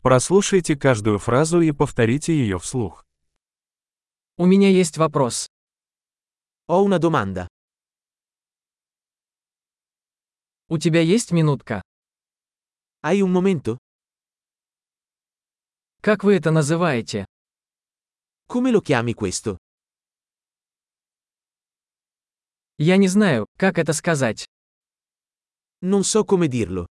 Прослушайте каждую фразу и повторите ее вслух. У меня есть вопрос. Ho una domanda. У тебя есть минутка? Hai un momento? Как вы это называете? Come lo chiami questo? Я не знаю, как это сказать. Non so come dirlo.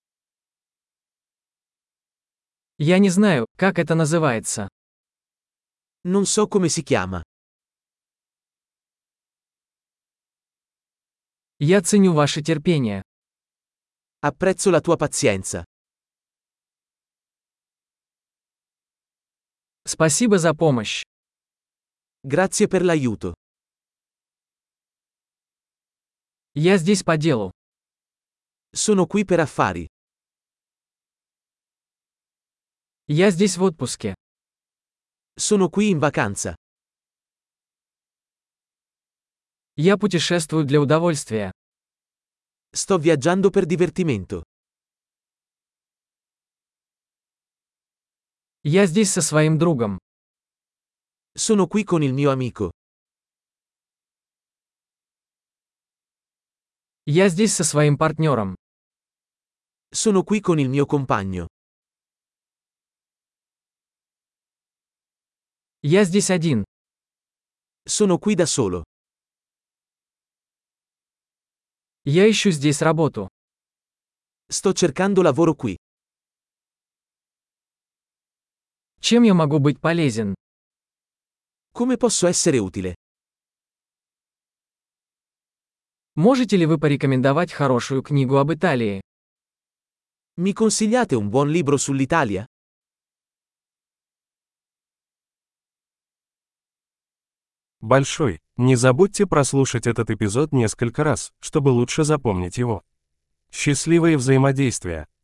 Я не знаю, как это называется. Non so come si chiama. Я ценю ваше терпение. Apprezzo la tua pazienza. Спасибо за помощь. Grazie per l'aiuto. Я здесь по делу. Sono qui per affari. Я здесь в отпуске. Sono qui in vacanza. Я путешествую для удовольствия. Sto viaggiando per divertimento. Я здесь со своим другом. Sono qui con il mio amico. Я здесь со своим партнером. Sono qui con il mio compagno. Я здесь один. Sono qui da solo. Я ищу здесь работу. Sto cercando lavoro qui. Чем я могу быть полезен? Come posso essere utile? Можете ли вы порекомендовать хорошую книгу об Италии? Mi consigliate un buon libro sull'Italia? Большой. Не забудьте прослушать этот эпизод несколько раз, чтобы лучше запомнить его. Счастливые взаимодействия!